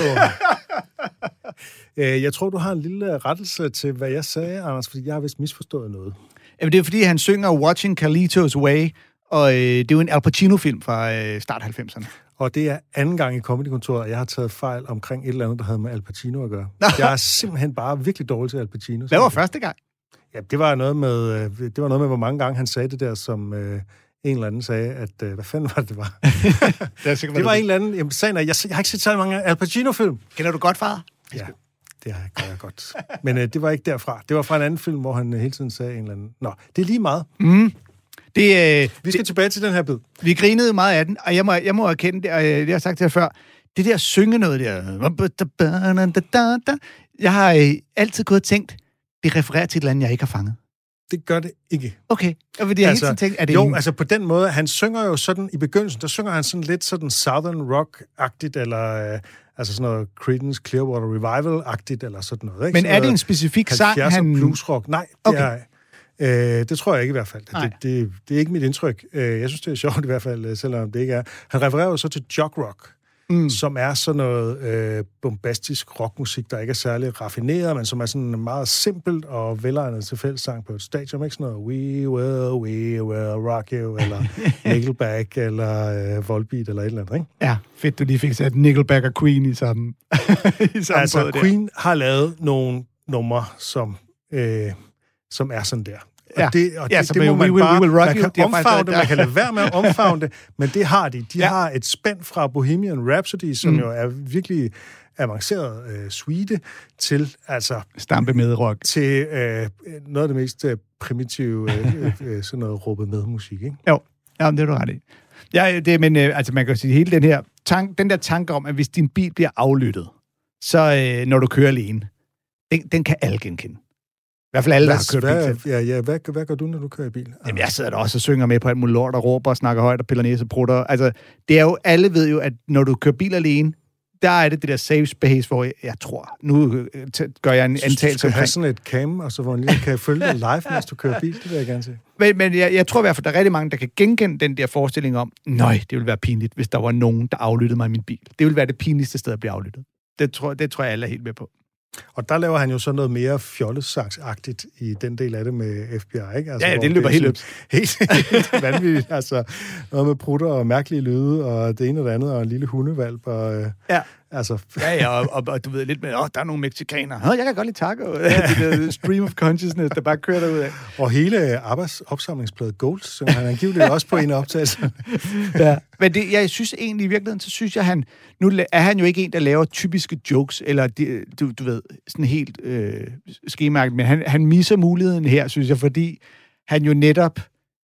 Jeg tror, du har en lille rettelse til, hvad jeg sagde, Anders, fordi jeg har vist misforstået noget. Jamen, det er fordi, han synger Watching Carlito's Way, og det er jo en Al Pacino-film fra start 90'erne. Og det er anden gang i Comedy-kontoret, at jeg har taget fejl omkring et eller andet, der havde med Al Pacino at gøre. Jeg er simpelthen bare virkelig dårlig til Al Pacino. Hvad var første gang? Ja, det var noget med, hvor mange gange han sagde det der, som en eller anden sagde, at hvad fanden var det var? Det var en eller anden, jeg har ikke set så mange Al Pacino-film. Kender du godt, far? Ja, det gør jeg godt. Men det var ikke derfra. Det var fra en anden film, hvor han hele tiden sagde en eller anden. Nå, det er lige meget. Mm. Vi skal tilbage til den her bid. Vi grinede meget af den, og jeg må erkende det, og det har jeg sagt til jer før. Det der synge noget der. Jeg har altid gået og tænkt, det refererer til et eller andet, jeg ikke har fanget. Det gør det ikke. Okay. Og det altså, helt tænkt, er det jo, altså på den måde, han synger jo sådan, i begyndelsen, der synger han sådan lidt sådan Southern Rock-agtigt, eller altså sådan noget Creedence Clearwater Revival-agtigt, eller sådan noget. Ikke? Men er det en specifik sang, han... bluesrock? Nej, det er det tror jeg ikke i hvert fald. Det er ikke mit indtryk. Jeg synes, det er sjovt i hvert fald, selvom det ikke er. Han refererer jo så til jog rock. som er sådan noget bombastisk rockmusik, der ikke er særlig raffineret, men som er sådan meget simpelt og velegnet til fællessang på et stadion. Ikke sådan noget We will rock you, eller Nickelback, eller Volbeat, eller et eller andet, ikke? Ja, fedt, du lige fik sat Nickelback og Queen i samme altså, Queen har lavet nogle numre, som er sådan der. Og det må man bare... Man kan omfavne det, man kan lade være med at omfavne det, men det har de. De har et spænd fra Bohemian Rhapsody, som jo er virkelig avanceret suite, til altså... Stampe med rock. Til noget af det mest primitive, sådan noget råbe med musik, ikke? Jo, ja, det er du ret i. Ja, men altså man kan sige, hele den der tanke om, at hvis din bil bliver aflyttet, så når du kører alene, den kan alle genkende. I hvert fald alle, der har kørt bil. Hvad gør du, når du kører i bil? Jamen, jeg sidder der også og synger med på alt muligt lort, og råber og snakker højt og piller næse og prutter. Altså, det er jo, alle ved jo, at når du kører bil alene, der er det der safe space, hvor jeg tror, nu gør jeg en antagelse omkring. Du skal have sådan et cam, og så hvor man lige kan følge dig live, mens du kører bil. Det vil jeg gerne se. Men jeg tror i hvert fald, der er rigtig mange, der kan genkende den der forestilling om, nej, det ville være pinligt, hvis der var nogen, der aflyttede mig i min bil. Det ville være det pinligste sted at blive aflyttet. Det tror jeg, alle er helt med på. Og der laver han jo så noget mere fjollesangsagtigt i den del af det med FBI, ikke? Altså, ja, det løber helt vanvittigt. Altså, noget med prutter og mærkelige lyde, og det ene og det andet, og en lille hundevalp. Og, altså. Og du ved lidt med, der er nogle mexikanere. Jeg kan godt lide taco. Det stream of consciousness, der bare kører derud af. Og hele opsamlingsplade Gold, som han angiveligt også på en optagelse. Ja. Men jeg synes egentlig i virkeligheden, så synes jeg, nu er han jo ikke en, der laver typiske jokes, eller du ved, sådan helt skemærket, men han misser muligheden her, synes jeg, fordi han jo netop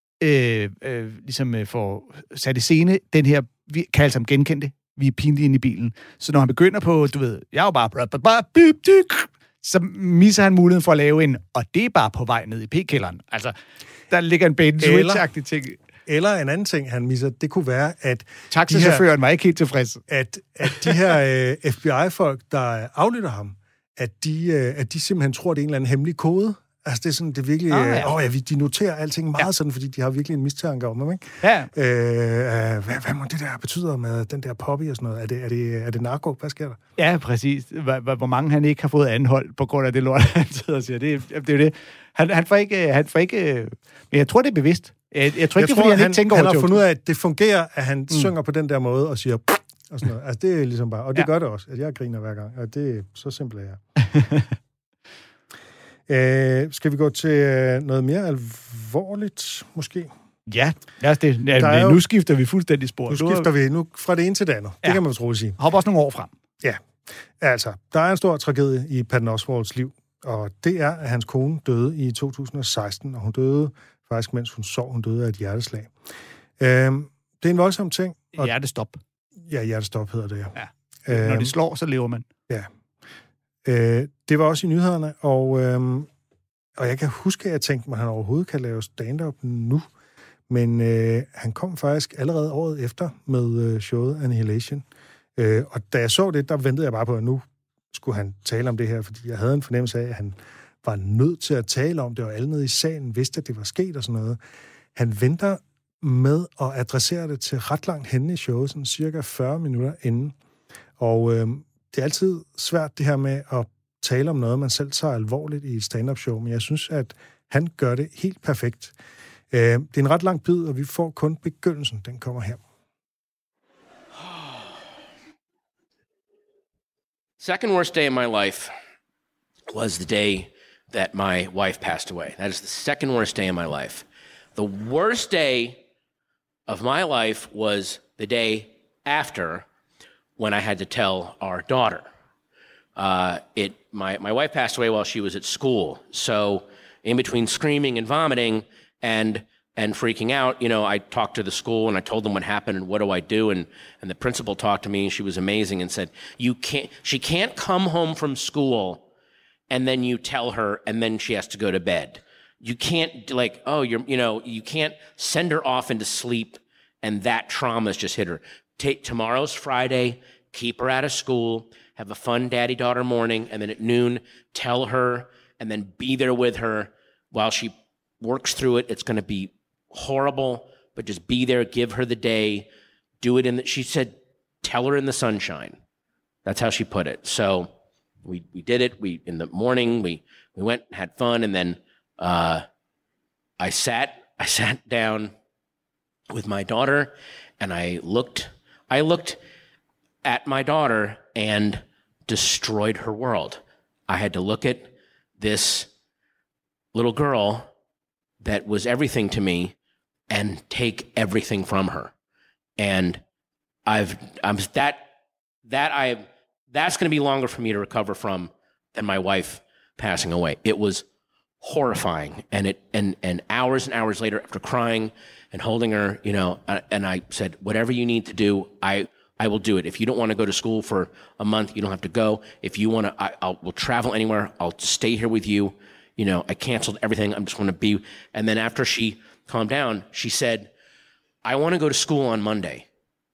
ligesom får sat i scene den her, vi kan alle sammen genkende det, vi er pinlige inde i bilen. Så når han begynder på, du ved, jeg er jo bare så misser han muligheden for at lave en, og det er bare på vej ned i p-kælderen. Altså, der ligger en bait and switch-agtig ting. Eller en anden ting, han misser, det kunne være, at... Taxichaufføren var ikke helt tilfreds. At de her FBI-folk, der aflytter ham, at de simpelthen tror, det er en eller anden hemmelig kode. Altså, det er sådan, det er virkelig... de noterer alting meget sådan, fordi de har virkelig en mistanke om dem, ikke? Ja. Hvad må det der betyder med den der poppy og sådan noget? Er det narko? Hvad sker der? Ja, præcis. Hvor mange han ikke har fået anholdt på grund af det lort, han sidder og siger. Det er jo det. Han får ikke... Men jeg tror, det er bevidst. Jeg tror ikke, det er, fordi han ikke tænker over han har fundet ud af, at det fungerer, at han synger på den der måde og siger... og sådan noget. Altså, det er ligesom bare... Og det gør det også, at jeg griner hver gang. Og det er så simpelt, skal vi gå til noget mere alvorligt, måske? Ja, nu skifter vi fuldstændig spor. Nu skifter vi fra det ene til det andet. Det kan man vist roligt sige. Hop også nogle år frem. Ja, altså, der er en stor tragedie i Patton Oswalts liv, og det er, at hans kone døde i 2016, og hun døde faktisk, mens hun sov. Hun døde af et hjerteslag. Det er en voldsom ting. Hjertestop. Ja, hjertestop hedder det, ja. Når de slår, så lever man. Ja. Det var også i nyhederne, og jeg kan huske, at jeg tænkte, at han overhovedet kan lave stand-up nu, men han kom faktisk allerede året efter med showet Annihilation. Og da jeg så det, der ventede jeg bare på, at nu skulle han tale om det her, fordi jeg havde en fornemmelse af, at han var nødt til at tale om det, og alle nede i salen vidste, at det var sket og sådan noget. Han venter med at adressere det til ret langt henne i showet, sådan cirka 40 minutter inden. Og det er altid svært det her med at tale om noget, man selv tager alvorligt i et stand-up show, men jeg synes, at han gør det helt perfekt. Det er en ret lang bid, og vi får kun begyndelsen. Den kommer her. Second worst day of my life was the day that my wife passed away. That is the second worst day of my life. The worst day of my life was the day after, when I had to tell our daughter. My wife passed away while she was at school, so in between screaming and vomiting and freaking out, I talked to the school and I told them what happened and what do I do, and the principal talked to me and she was amazing and said, she can't come home from school and then you tell her and then she has to go to bed. You can't you can't send her off into sleep and that trauma's just hit her. Tomorrow's Friday, keep her out of school, have a fun daddy-daughter morning, and then at noon, tell her, and then be there with her while she works through it. It's going to be horrible, but just be there, give her the day, do it she said, tell her in the sunshine. That's how she put it. So we did it. In the morning, we went and had fun. And then I sat down with my daughter, and I looked at my daughter and destroyed her world. I had to look at this little girl that was everything to me and take everything from her. And that's going to be longer for me to recover from than my wife passing away. It was horrifying. And hours and hours later, after crying and holding her, and I said, whatever you need to do, I will do it. If you don't want to go to school for a month, you don't have to go. If you want to, we'll travel anywhere. I'll stay here with you. I canceled everything. I'm just going to be. And then after she calmed down, she said, I want to go to school on Monday.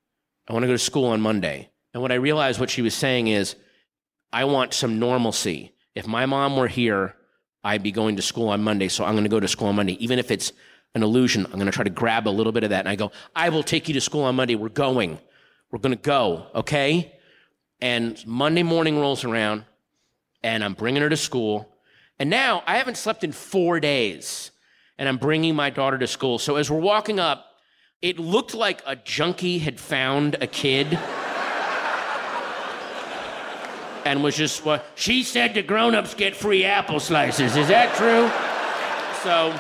And what I realized what she was saying is, I want some normalcy. If my mom were here, I'd be going to school on Monday, so I'm going to go to school on Monday. Even if it's an illusion, I'm going to try to grab a little bit of that. And I go, I will take you to school on Monday. We're going to go, okay? And Monday morning rolls around, and I'm bringing her to school. And now I haven't slept in 4 days, and I'm bringing my daughter to school. So as we're walking up, it looked like a junkie had found a kid and was just, well, she said the grown-ups get free apple slices. Is that true? So,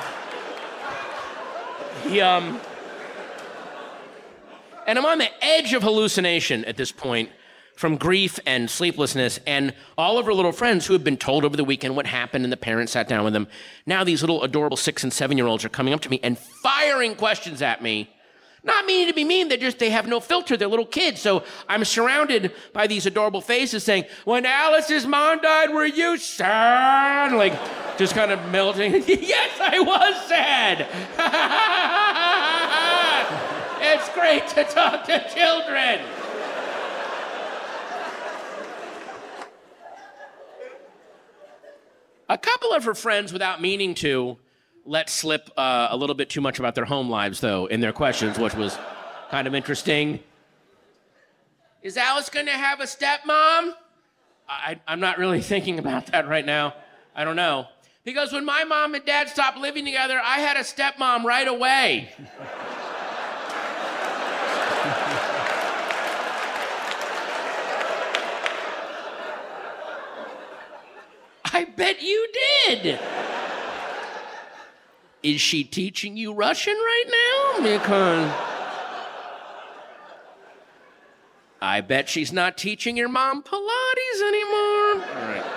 and I'm on the edge of hallucination at this point from grief and sleeplessness, and all of her little friends who had been told over the weekend what happened and the parents sat down with them. Now these little adorable 6- and 7-year-olds are coming up to me and firing questions at me. Not meaning to be mean, they have no filter, they're little kids. So I'm surrounded by these adorable faces saying, when Alice's mom died, were you sad? Like, just kind of melting. Yes, I was sad. It's great to talk to children. A couple of her friends, without meaning to, let slip a little bit too much about their home lives, though, in their questions, which was kind of interesting. Is Alice going to have a stepmom? I'm not really thinking about that right now. I don't know. Because when my mom and dad stopped living together, I had a stepmom right away. I bet you did. Is she teaching you Russian right now? Because I bet she's not teaching your mom Pilates anymore. All right.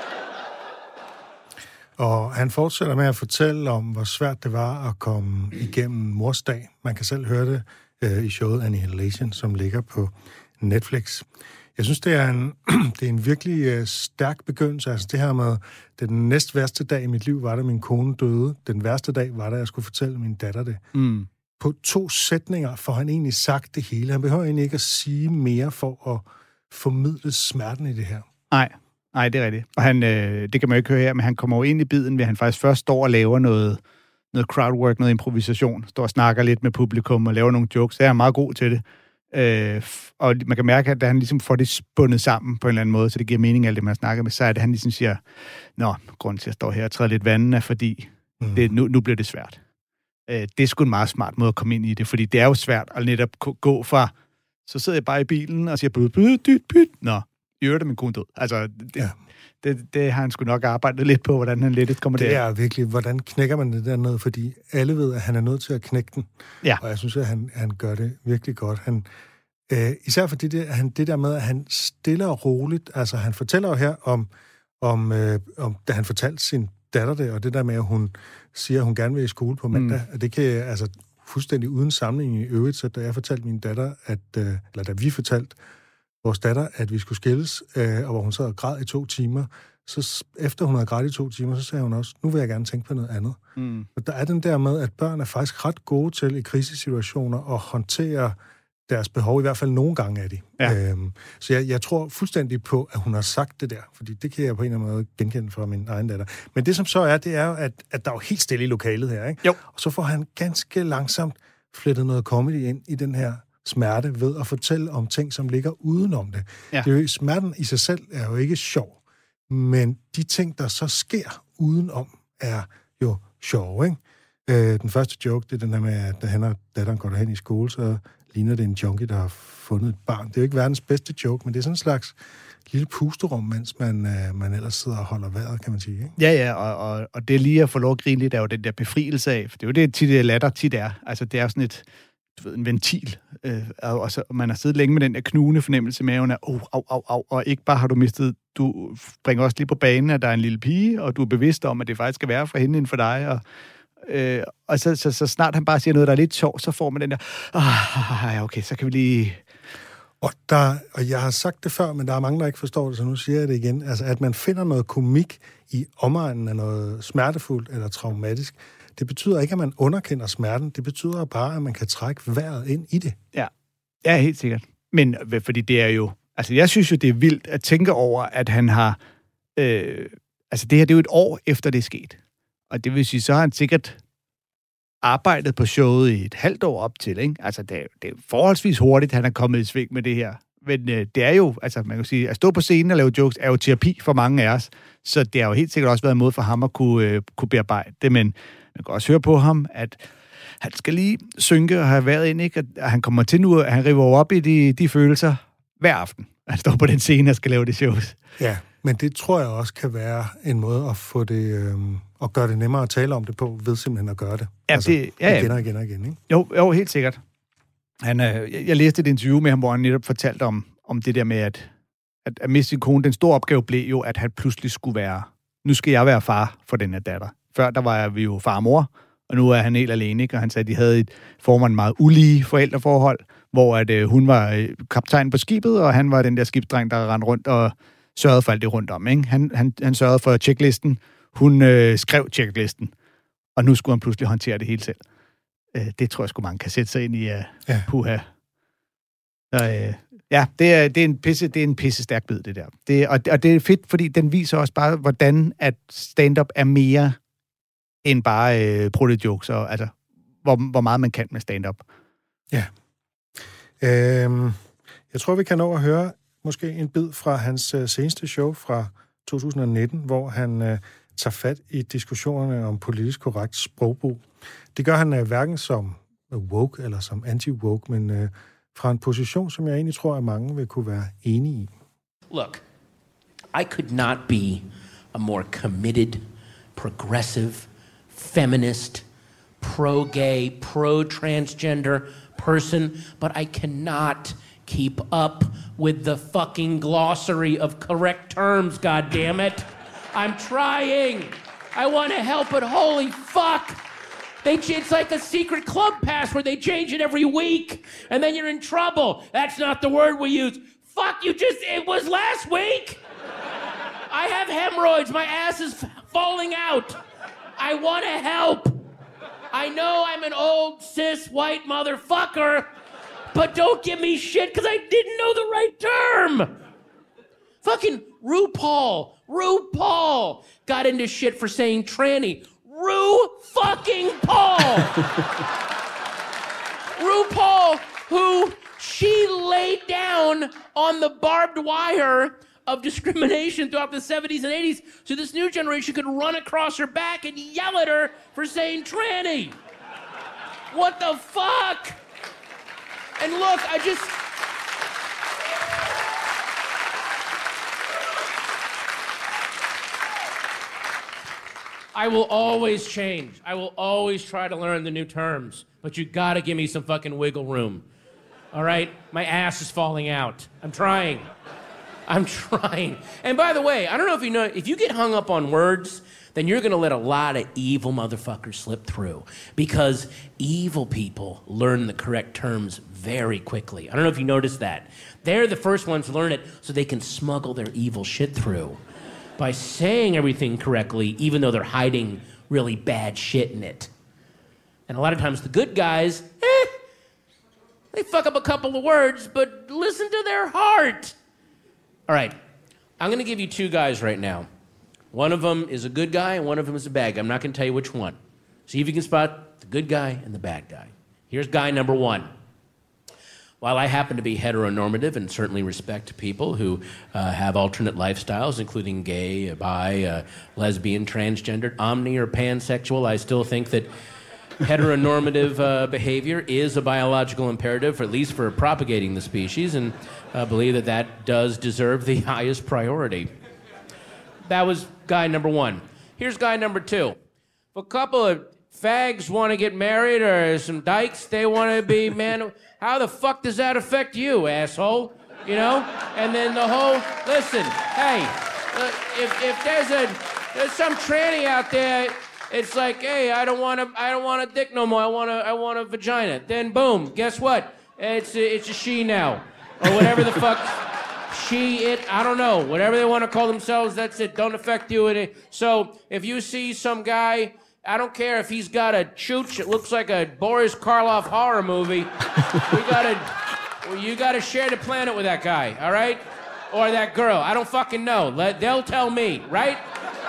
Og han fortsætter med at fortælle om, hvor svært det var at komme igennem morsdag. Man kan selv høre det i showet Annihilation, som ligger på Netflix. Jeg synes, det er en virkelig stærk begyndelse. Altså det her med, den næst værste dag i mit liv var, da min kone døde. Den værste dag var, da jeg skulle fortælle min datter det. Mm. På 2 sætninger får han egentlig sagt det hele. Han behøver egentlig ikke at sige mere for at formidle smerten i det her. Nej, det er rigtigt. Og han, det kan man jo ikke høre her, men han kommer jo ind i biden, ved han faktisk først står og laver noget crowdwork, noget improvisation. Står og snakker lidt med publikum og laver nogle jokes. Så er han meget god til det. Og man kan mærke, at da han ligesom får det spundet sammen på en eller anden måde, så det giver mening alt det, man snakker med, så er det, han ligesom siger, grunden til, at jeg står her og træder lidt vandet, er fordi nu bliver det svært. Det er sgu en meget smart måde at komme ind i det, fordi det er jo svært at netop gå fra, så sidder jeg bare i bilen og siger, byt. I øvrigt er min kone død. Altså, det har han sgu nok arbejdet lidt på, hvordan han lidt kommer der. Det er virkelig, hvordan knækker man det dernede, fordi alle ved, at han er nødt til at knække den. Ja. Og jeg synes, at han gør det virkelig godt. Især fordi det der med, at han stille og roligt, altså han fortæller jo her om da han fortalte sin datter det, og det der med, at hun siger, at hun gerne vil i skole på mandag, og det kan altså fuldstændig uden sammenligning i øvrigt, så da jeg fortalte min datter, eller da vi fortalte vores datter, at vi skulle skilles, og hvor hun sad og græd i 2 timer, så efter hun havde grædt i 2 timer, så sagde hun også, nu vil jeg gerne tænke på noget andet. Og der er den der med, at børn er faktisk ret gode til i krisesituationer at håndtere deres behov, i hvert fald nogle gange er de. Ja. Så jeg tror fuldstændig på, at hun har sagt det der, fordi det kan jeg på en eller anden måde genkende fra min egen datter. Men det som så er, det er jo, at der er jo helt stille i lokalet her, ikke? Jo. Og så får han ganske langsomt flettet noget comedy ind i den her smerte ved at fortælle om ting, som ligger udenom det. Ja. Det er jo, smerten i sig selv er jo ikke sjov, men de ting, der så sker udenom, er jo sjove, ikke? Den første joke, det er den her med, at da han og datteren går derhen i skole, så ligner det en junkie, der har fundet et barn. Det er jo ikke verdens bedste joke, men det er sådan en slags lille pusterum, mens man ellers sidder og holder vejret, kan man sige. Ikke? Ja, og det lige at få lov at grine lidt, er jo den der befrielse af, for det er jo det, tit latter tit er. Altså, det er sådan en ventil, og så man har siddet længe med den der knugende fornemmelse i maven af, au, og ikke bare har du mistet, du bringer også lige på banen, at der er en lille pige, og du er bevidst om, at det faktisk skal være for hende end for dig, og så snart han bare siger noget, der er lidt sjovt, så får man den der, okay, så kan vi lige... Og jeg har sagt det før, men der er mange, der ikke forstår det, så nu siger jeg det igen. Altså, at man finder noget komik i omegnen af noget smertefuldt eller traumatisk, det betyder ikke, at man underkender smerten. Det betyder bare, at man kan trække vejret ind i det. Ja, helt sikkert. Men fordi det er jo... Altså, jeg synes jo, det er vildt at tænke over, at han har... altså, det her, det er jo et år efter, det er sket. Og det vil sige, så har han sikkert arbejdet på showet i et halvt år op til, ikke? Altså, det er forholdsvis hurtigt, han er kommet i sving med det her. Men det er jo, altså, man kan sige, at stå på scenen og lave jokes er jo terapi for mange af os. Så det har jo helt sikkert også været en måde for ham at kunne bearbejde det. Men man kan også høre på ham, at han skal lige synke og have været ind, ikke? At han kommer til nu, at han river op i de følelser hver aften. Han står på den scene og skal lave det shows. Ja, men det tror jeg også kan være en måde at få det... og gøre det nemmere at tale om det på, ved simpelthen at gøre det. Ja, altså, igen og igen, ikke? Jo, helt sikkert. Jeg læste et interview med ham, hvor han netop fortalte om det der med, at miste sin kone. Den store opgave blev jo, at han pludselig skulle være, nu skal jeg være far for den her datter. Før der var vi jo far og mor, og nu er han helt alene, ikke? Og han sagde, at de havde et meget ulige forældreforhold, hvor at, hun var kaptajn på skibet, og han var den der skibsdreng, der rendte rundt og sørgede for alt det rundt om, ikke? Han sørgede for checklisten. Hun skrev checklisten, og nu skulle han pludselig håndtere det hele selv. Det tror jeg sgu mange kan sætte sig ind i puha. Det er en pisse stærk bid, det der. Og det er fedt, fordi den viser også bare, hvordan at stand-up er mere end bare proto-jokes, og altså, hvor meget man kan med stand-up. Ja. Jeg tror, vi kan nå at høre måske en bid fra hans seneste show fra 2019, hvor han tager fat i diskussionerne om politisk korrekt sprogbrug. Det gør han hverken som woke eller som anti-woke, men fra en position, som jeg egentlig tror, at mange vil kunne være enige i. Look, I could not be a more committed, progressive, feminist, pro-gay, pro-transgender person, but I cannot keep up with the fucking glossary of correct terms, goddammit. I'm trying. I want to help, but holy fuck. It's like a secret club pass where they change it every week, and then you're in trouble. That's not the word we use. Fuck, it was last week. I have hemorrhoids. My ass is falling out. I want to help. I know I'm an old, cis, white motherfucker, but don't give me shit because I didn't know the right term. Fucking RuPaul got into shit for saying tranny. RuPaul, who she laid down on the barbed wire of discrimination throughout the 70s and 80s, so this new generation could run across her back and yell at her for saying tranny. What the fuck? And look, I will always change. I will always try to learn the new terms. But you gotta give me some fucking wiggle room. All right? My ass is falling out. I'm trying. And by the way, I don't know if you know, if you get hung up on words, then you're gonna let a lot of evil motherfuckers slip through. Because evil people learn the correct terms very quickly. I don't know if you noticed that. They're the first ones to learn it so they can smuggle their evil shit through by saying everything correctly, even though they're hiding really bad shit in it. And a lot of times the good guys, they fuck up a couple of words, but listen to their heart. All right, I'm gonna give you two guys right now. One of them is a good guy and one of them is a bad guy. I'm not gonna tell you which one. See if you can spot the good guy and the bad guy. Here's guy number one. While I happen to be heteronormative and certainly respect people who have alternate lifestyles, including gay, bi, lesbian, transgendered, omni, or pansexual, I still think that heteronormative behavior is a biological imperative, at least for propagating the species, and believe that does deserve the highest priority. That was guy number one. Here's guy number two. If a couple of fags want to get married, or some dykes, they want to be man. How the fuck does that affect you, asshole? You know? And then the whole, listen, hey, if there's some tranny out there, it's like, hey, I don't want a dick no more. I want a vagina. Then boom, guess what? It's a she now, or whatever the fuck. She, it, I don't know. Whatever they want to call themselves, that's it. Don't affect you. So if you see some guy, I don't care if he's got a chooch, it looks like a Boris Karloff horror movie. You gotta share the planet with that guy, all right? Or that girl. I don't fucking know. They'll tell me, right?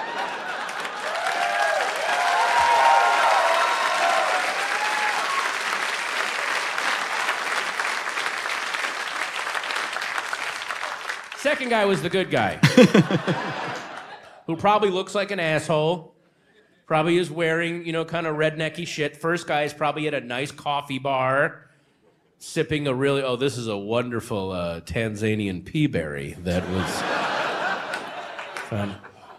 Second guy was the good guy. Who probably looks like an asshole. Probably is wearing, kind of rednecky shit. First guy is probably at a nice coffee bar, sipping this is a wonderful Tanzanian peaberry that was fun.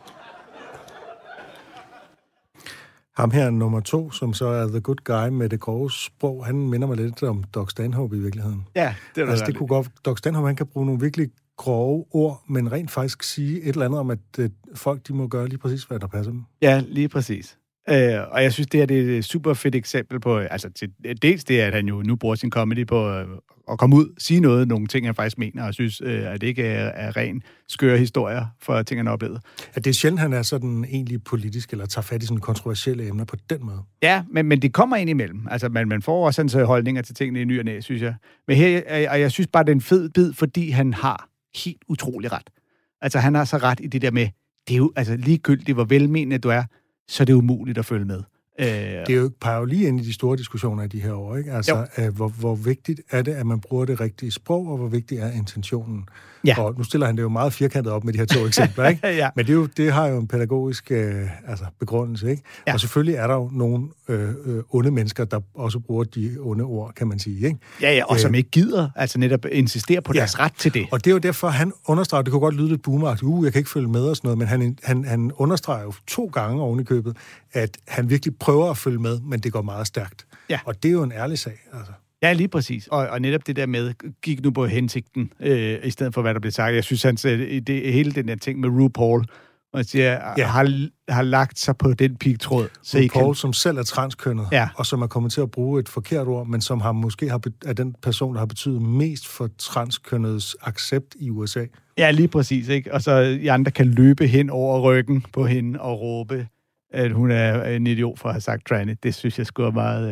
Ham her, nummer 2, som så er the good guy med det grove sprog, han minder mig lidt om Doug Stanhope i virkeligheden. Ja, det er det. Det kunne godt. Doug Stanhope, han kan bruge nogle virkelig grove ord, men rent faktisk sige et eller andet om, at folk de må gøre lige præcis, hvad der passer dem. Ja, lige præcis. Og jeg synes, det er et super fedt eksempel på, dels det, at han jo nu bruger sin comedy på at komme ud, sige nogle ting, han faktisk mener, og synes, at det ikke er ren skøre historier for ting, han har oplevet. At det er sjældent, han er sådan egentlig politisk, eller tager fat i sådan kontroversielle emner på den måde. Ja, men det kommer ind imellem. Altså, man får også sådan holdninger til tingene i ny og næ, synes jeg. Men her, og jeg synes bare, det er en fed bid, fordi han har helt utrolig ret. Altså, han har så ret i det der med, det er jo ligegyldigt, hvor velmenende du er, så er det umuligt at følge med. Det er jo peger jo lige ind i de store diskussioner i de her år, ikke? Altså, hvor vigtigt er det, at man bruger det rigtige sprog, og hvor vigtig er intentionen? Ja. Og nu stiller han det jo meget firkantet op med de her 2 eksempler, ikke? Ja. Men det har jo en pædagogisk begrundelse, ikke? Ja. Og selvfølgelig er der jo nogle onde mennesker, der også bruger de onde ord, kan man sige, ikke? Ja, og som ikke gider, altså netop insistere på deres ret til det. Og det er jo derfor, han understreger, det kunne godt lyde lidt boomeragtigt, jeg kan ikke følge med og sådan noget, men han understreger jo 2 gange oven i købet, at han virkelig prøver at følge med, men det går meget stærkt. Ja. Og det er jo en ærlig sag, altså. Ja, lige præcis. Og netop det der med, gik nu på hensigten, i stedet for, hvad der blev sagt. Jeg synes, hele den der ting med RuPaul, og siger, har lagt sig på den pigtråd. RuPaul, som selv er transkønnet, og som er kommet til at bruge et forkert ord, men som er den person, der har betydet mest for transkønnets accept i USA. Ja, lige præcis, ikke? Og så de andre kan løbe hen over ryggen på hende og råbe, at hun er en idiot for at have sagt tranny. Det synes jeg sgu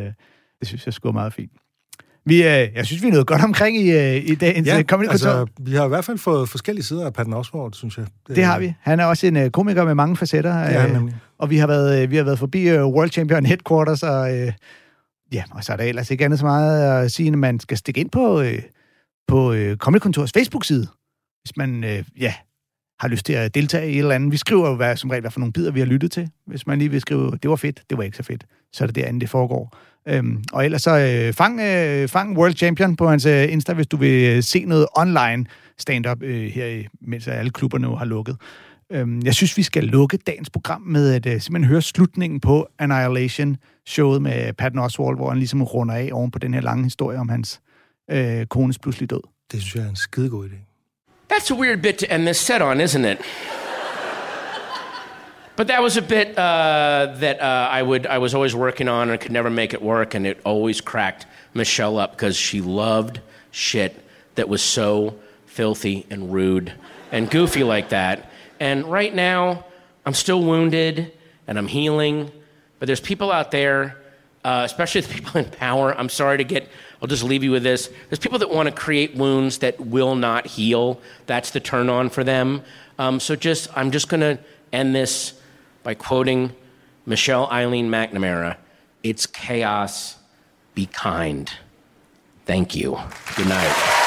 er meget fint. Jeg synes, vi er noget godt omkring i dagens Comedy Kontor. Vi har i hvert fald fået forskellige sider af Patton Oswalt, synes jeg. Det har vi. Han er også en komiker med mange facetter. Og vi har været forbi World Champion Headquarters, og så er der ellers ikke andet så meget at sige, at man skal stikke ind på Comedy Kontors Facebook-side, hvis man har lyst til at deltage i et eller andet. Vi skriver jo som regel, hvad for nogle bidder vi har lyttet til. Hvis man lige vil skrive, det var fedt, det var ikke så fedt, så er det derinde, det foregår. Og ellers så fang World Champion på hans Insta, hvis du vil se noget online stand-up her, mens alle klubberne nu har lukket. Jeg synes, vi skal lukke dagens program med at simpelthen høre slutningen på Annihilation-showet med Patton Oswalt, hvor han ligesom runder af oven på den her lange historie om hans kones pludselig død. Det synes jeg er en skidegod idé. That's a weird bit to end this set on, isn't it? But that was a bit that I was always working on and could never make it work, and it always cracked Michelle up because she loved shit that was so filthy and rude and goofy like that. And right now, I'm still wounded and I'm healing, but there's people out there, especially the people in power. I'm sorry I'll just leave you with this. There's people that want to create wounds that will not heal. That's the turn on for them. I'm just going to end this by quoting Michelle Eileen McNamara. It's chaos. Be kind. Thank you. Good night.